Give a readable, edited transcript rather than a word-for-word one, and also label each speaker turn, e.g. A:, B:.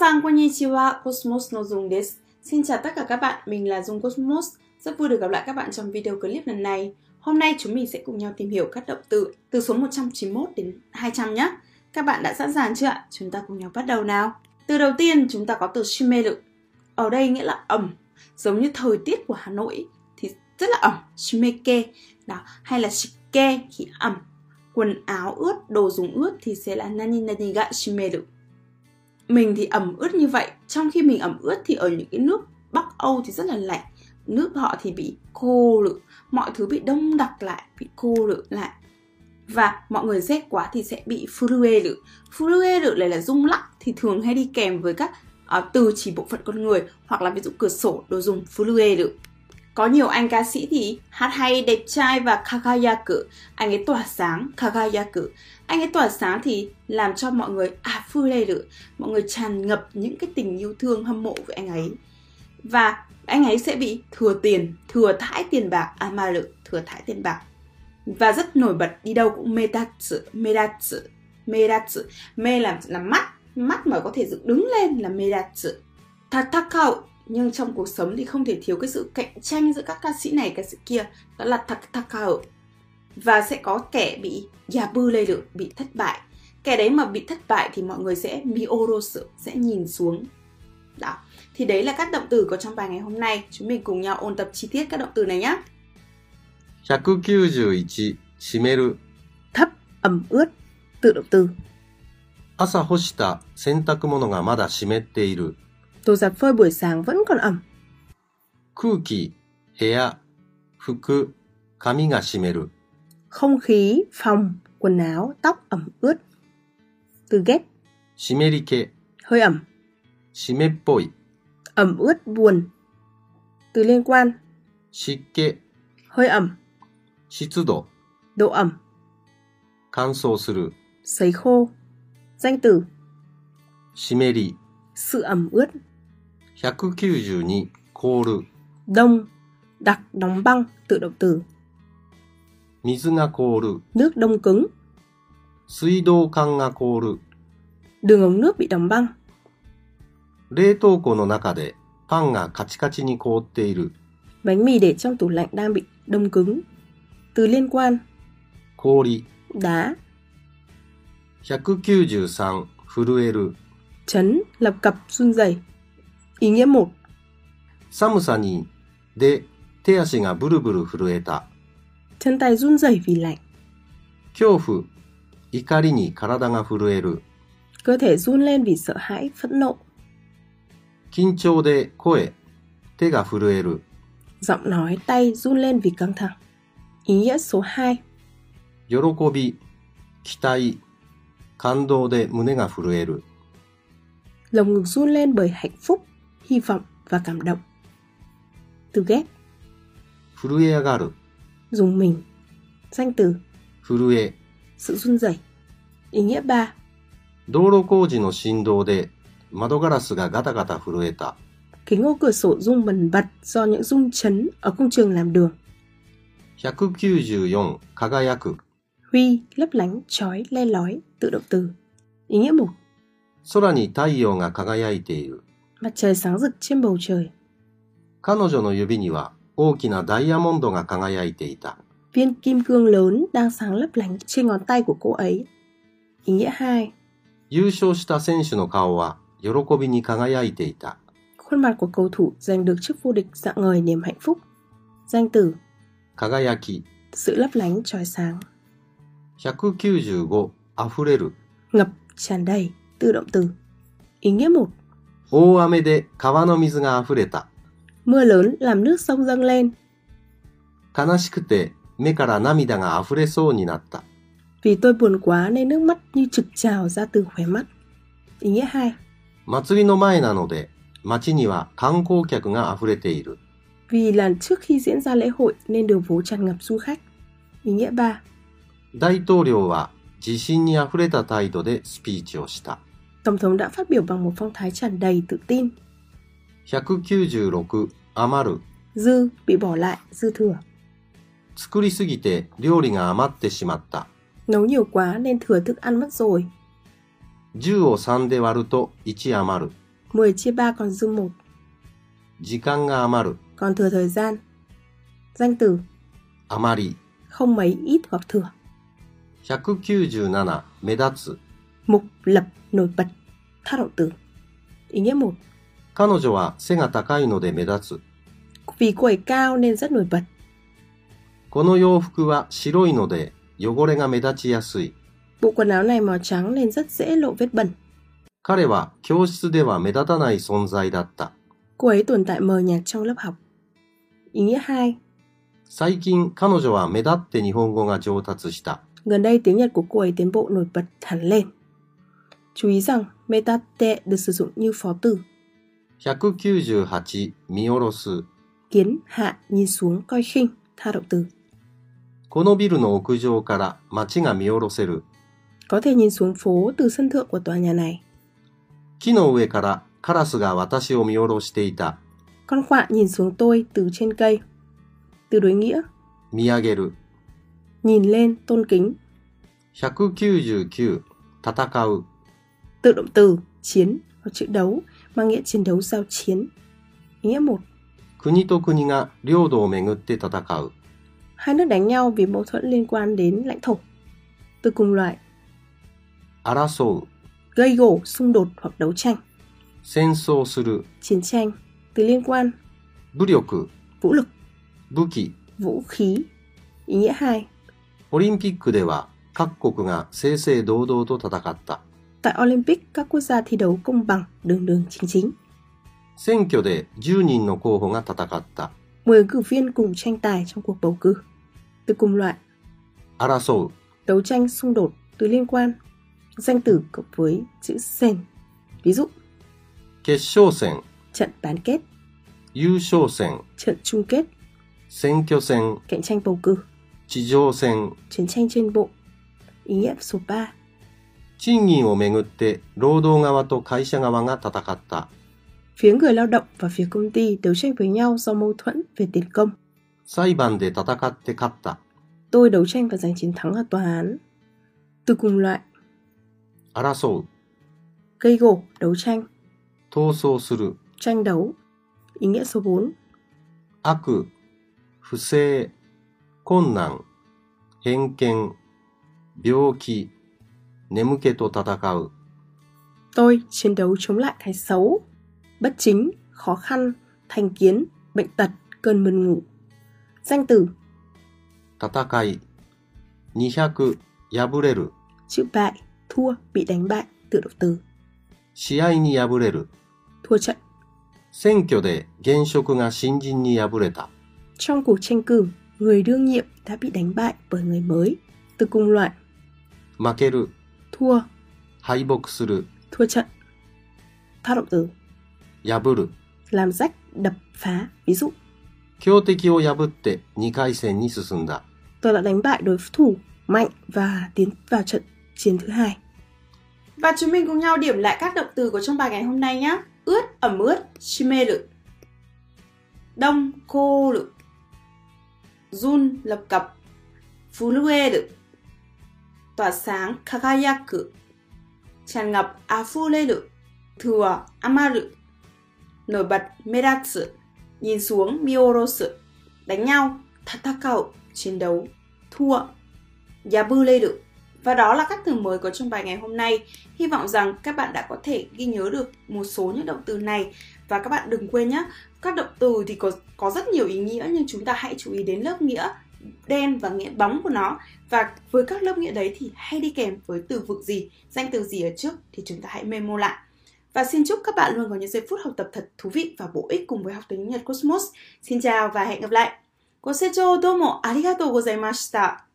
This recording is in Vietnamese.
A: Minasan konnichiwa, Cosmos no Dung desu. Xin chào tất cả các bạn, mình là Dung Cosmos. Rất vui được gặp lại các bạn trong video clip lần này. Hôm nay chúng mình sẽ cùng nhau tìm hiểu các động từ số 191 đến 200 nhé. Các bạn đã sẵn sàng chưa ạ? Chúng ta cùng nhau bắt đầu nào. Từ đầu tiên chúng ta có từ shimeru. Ở đây nghĩa là ẩm. Giống như thời tiết của Hà Nội thì rất là ẩm, shimeke. Đó, hay là shike thì ẩm. Quần áo ướt, đồ dùng ướt thì sẽ là nani nani ga shimeru. Mình thì ẩm ướt như vậy. Trong khi mình ẩm ướt thì ở những cái nước Bắc Âu thì rất là lạnh. Nước họ thì bị khô lự. Mọi thứ bị đông đặc lại, bị khô lự lại. Và mọi người rét quá thì sẽ bị furueru. Furueru này là rung lắc thì thường hay đi kèm với các từ chỉ bộ phận con người. Hoặc là ví dụ cửa sổ, đồ dùng furueru. Có nhiều anh ca sĩ thì hát hay, đẹp trai và kagayaku. Anh ấy tỏa sáng, kagayaku. Anh ấy tỏa sáng thì làm cho mọi người fureru. Mọi người tràn ngập những cái tình yêu thương hâm mộ với anh ấy. Và anh ấy sẽ bị thừa thãi tiền bạc, amaru, thừa thãi tiền bạc. Và rất nổi bật, đi đâu cũng medatsu. Me là mắt mà có thể dựng đứng lên là medatsu. Tatakau, nhưng trong cuộc sống thì không thể thiếu cái sự cạnh tranh giữa các ca sĩ này, ca sĩ kia. Đó là tatakau. Và sẽ có kẻ bị yabureru, bị thất bại. Kẻ đấy mà bị thất bại thì mọi người sẽ miorosu, sẽ nhìn xuống. Đó. Thì đấy là các động từ có trong bài ngày hôm nay. Chúng mình cùng nhau ôn tập chi tiết các động từ này nhé.
B: 191. 湿る
A: Thấp, ẩm ướt. Tự động từ.
B: 朝干した洗濯物がまだ湿っている
A: Đồ giặt phơi buổi sáng vẫn còn ẩm.
B: 空気、部屋、服、髪が湿る
A: Không khí, phòng, quần áo, tóc ẩm ướt. Từ ghét.
B: 湿り気、
A: Hơi ẩm.
B: 湿っぽい
A: Ẩm ướt, buồn. Từ liên quan.
B: 湿気、
A: Hơi ẩm.
B: 湿度、
A: Độ ẩm.
B: 乾燥する
A: Sấy khô. Danh từ.
B: 湿り
A: Sự ẩm ướt.
B: 192. 凍る
A: Đông, đặc, đóng băng. Tự động từ.
B: 水が凍る
A: Nước đông cứng.
B: 水道管が凍る
A: Đường ống nước bị đóng băng.
B: 冷凍庫の中でパンがカチカチに凍っている
A: Bánh mì để trong tủ lạnh đang bị đông cứng. Từ liên quan.
B: 氷
A: Đá.
B: 193. 震える
A: Chấn, lập cập, run rẩy. Ý nghĩa 1.
B: 寒さにで手足がブルブル震えた
A: Chân tay run rẩy vì lạnh.
B: 恐怖、怒りに体が震える
A: Cơ thể run lên vì sợ hãi, phẫn nộ.
B: 緊張で声、手が震える
A: Giọng nói, tay run lên vì căng thẳng. Ý nghĩa số 2.
B: 喜び、期待、感動で胸が震える
A: Lồng ngực run lên bởi hạnh phúc, hy vọng và cảm động. Từ ghét.
B: 震え上がる
A: Dùng mình. Danh từ.
B: 震え
A: Sự run rẩy. Ý nghĩa 3.
B: 道路工事の振動で窓ガラスがガタガタ震えた
A: Kính ô cửa sổ rung bần bật do những rung chấn ở công trường làm đường.
B: 194. 輝く
A: Huy, lấp lánh, chói, le lói. Tự động từ. Ý nghĩa 1.
B: 空に太陽が輝いている
A: Mặt trời sáng rực trên bầu trời.
B: 彼女の指には大きなダイヤモンドが輝いていた
A: Viên kim cương lớn đang sáng lấp lánh trên ngón tay của cô ấy. Ý nghĩa 2.
B: 優勝した選手の顔は喜びに輝いていた
A: Khuôn mặt của cầu thủ giành được chức vô địch rạng ngời niềm hạnh phúc. Danh từ.
B: 輝き
A: Sự lấp lánh, chói sáng.
B: 195. 溢れる
A: Ngập, tràn đầy. Tự động từ. Ý nghĩa 1.
B: 大雨で川の水が溢れた
A: Mưa lớn làm nước sông dâng lên.
B: 悲しくて目から涙が溢れそうになった
A: Vì tôi buồn quá nên nước mắt như trực trào ra từ khóe mắt. Ý nghĩa 2.
B: 祭りの前なので街には観光客が溢れている
A: Vì là trước khi diễn ra lễ hội nên đường phố tràn ngập du khách. Ý nghĩa 3.
B: 大統領は自信にあふれた態度でスピーチをした
A: Tổng thống đã phát biểu bằng một phong thái tràn đầy tự tin.
B: 196. 余る
A: Dư, bị bỏ lại, dư thừa.
B: 作りすぎて料理が余ってしまった
A: Nấu nhiều quá nên thừa thức ăn mất rồi.
B: 10を3で割ると1余る
A: 10 chia 3 còn dư 1.
B: 時間が余る
A: còn thừa thời gian. Danh từ
B: あまり
A: không mấy, ít hoặc thừa.
B: 197目立つ
A: Mục lập nổi bật. Thao động từ. Ý nghĩa 1.
B: 彼女は背が高いので目立つ
A: Vì cô ấy cao nên rất nổi bật.
B: この洋服は白いので汚れが目立ちやすい
A: Bộ quần áo này màu trắng nên rất dễ lộ vết bẩn.
B: 彼は教室では目立たない存在だった
A: Cô ấy tồn tại mờ nhạt trong lớp học. Ý nghĩa 2.
B: 最近彼女は目立って日本語が上達した
A: Gần đây tiếng Nhật của cô ấy tiến bộ nổi bật hẳn lên. Chú ý rằng metate được sử dụng như phó từ.
B: 198見下ろす
A: Kiến hạ, nhìn xuống, coi khinh. Thao động từ.
B: このビルの屋上から街が見下ろせる
A: Có thể nhìn xuống phố từ sân thượng của tòa nhà này.
B: 木の上からカラスが私を見下ろしていた
A: Con quạ nhìn xuống tôi từ trên cây. Từ đối nghĩa.
B: 見上げる
A: Nhìn lên, tôn kính.
B: 199戦う
A: Tự động từ, chiến hoặc chữ đấu, mang nghĩa chiến đấu giao chiến. Ý nghĩa 1.
B: 国と国が領土をめぐって戦う
A: Hai nước đánh nhau vì mâu thuẫn liên quan đến lãnh thổ. Từ cùng loại.
B: 争う
A: Gây gổ, xung đột hoặc đấu tranh.
B: 戦争する
A: Chiến tranh. Từ liên quan.
B: 武力
A: Vũ lực,
B: 武器
A: vũ khí. Ý nghĩa 2.
B: オリンピックでは各国が正々堂々と戦った
A: Tại Olympic, các quốc gia thi đấu công bằng, đường đường chính chính.
B: 選挙で10人の候補が戦った
A: 10 ứng cử viên cùng tranh tài trong cuộc bầu cử. Từ cùng loại.
B: 争う
A: Đấu tranh, xung đột. Từ liên quan. Danh từ cộng với chữ sen. Ví dụ.
B: 決勝戦
A: Trận bán kết.
B: 優勝戦
A: Trận chung kết.
B: 選挙戦
A: Cạnh tranh bầu cử.
B: 地上戦
A: Chiến tranh trên bộ. Ý nghĩa số 3.
B: 賃金をめぐって労働側と会社側が戦った
A: Phía người lao động và phía công ty đấu tranh với nhau do mâu thuẫn về tiền công.
B: 裁判で戦って勝った
A: Tôi đấu tranh và giành chiến thắng ở tòa án. Từ cùng loại.
B: 争う
A: Gây gổ, đấu tranh.
B: 闘争する
A: Tranh đấu. Ý nghĩa số 4.
B: 悪不正困難偏見病気眠気と戦う
A: Tôi chiến đấu chống lại cái xấu, bất chính, khó khăn, thành kiến, bệnh tật, cơn buồn ngủ. Danh từ.
B: 戦い200敗れる
A: Chữ bại, thua, bị đánh bại. Tự động từ.
B: 試合に敗れる
A: Thua trận.
B: 選挙で現職が新人に敗れた
A: Trong cuộc tranh cử, người đương nhiệm đã bị đánh bại bởi người mới. Từ cùng loại.
B: 負ける
A: Thua,
B: 敗北する
A: thua trận. Thao động từ.
B: 破る
A: Làm rách, đập, phá. Ví dụ.
B: 強敵を破って2回戦に進んだ
A: Tôi đã đánh bại đối thủ mạnh và tiến vào trận chiến thứ 2.
C: Và chúng mình cùng nhau điểm lại các động từ của trong bài ngày hôm nay nhé. Ướt, ẩm ướt, shimeru. Đông, koru. Run, lập cập. Furueru. Tỏa sáng, kagayaku. Tràn ngập, afureru. Thừa, amaru. Nổi bật, medatsu. Nhìn xuống, miorosu. Đánh nhau, tatakau. Chiến đấu, thua, yabureru. Và đó là các từ mới có trong bài ngày hôm nay. Hy vọng rằng các bạn đã có thể ghi nhớ được một số những động từ này. Và các bạn đừng quên nhé, các động từ thì có rất nhiều ý nghĩa, nhưng chúng ta hãy chú ý đến lớp nghĩa đen và nghĩa bóng của nó. Và với các lớp nghĩa đấy thì hay đi kèm với từ vựng gì, danh từ gì ở trước thì chúng ta hãy memo lại. Và xin chúc các bạn luôn có những giây phút học tập thật thú vị và bổ ích cùng với học tiếng Nhật Cosmos. Xin chào và hẹn gặp lại.ご清聴どうもありがとうございました。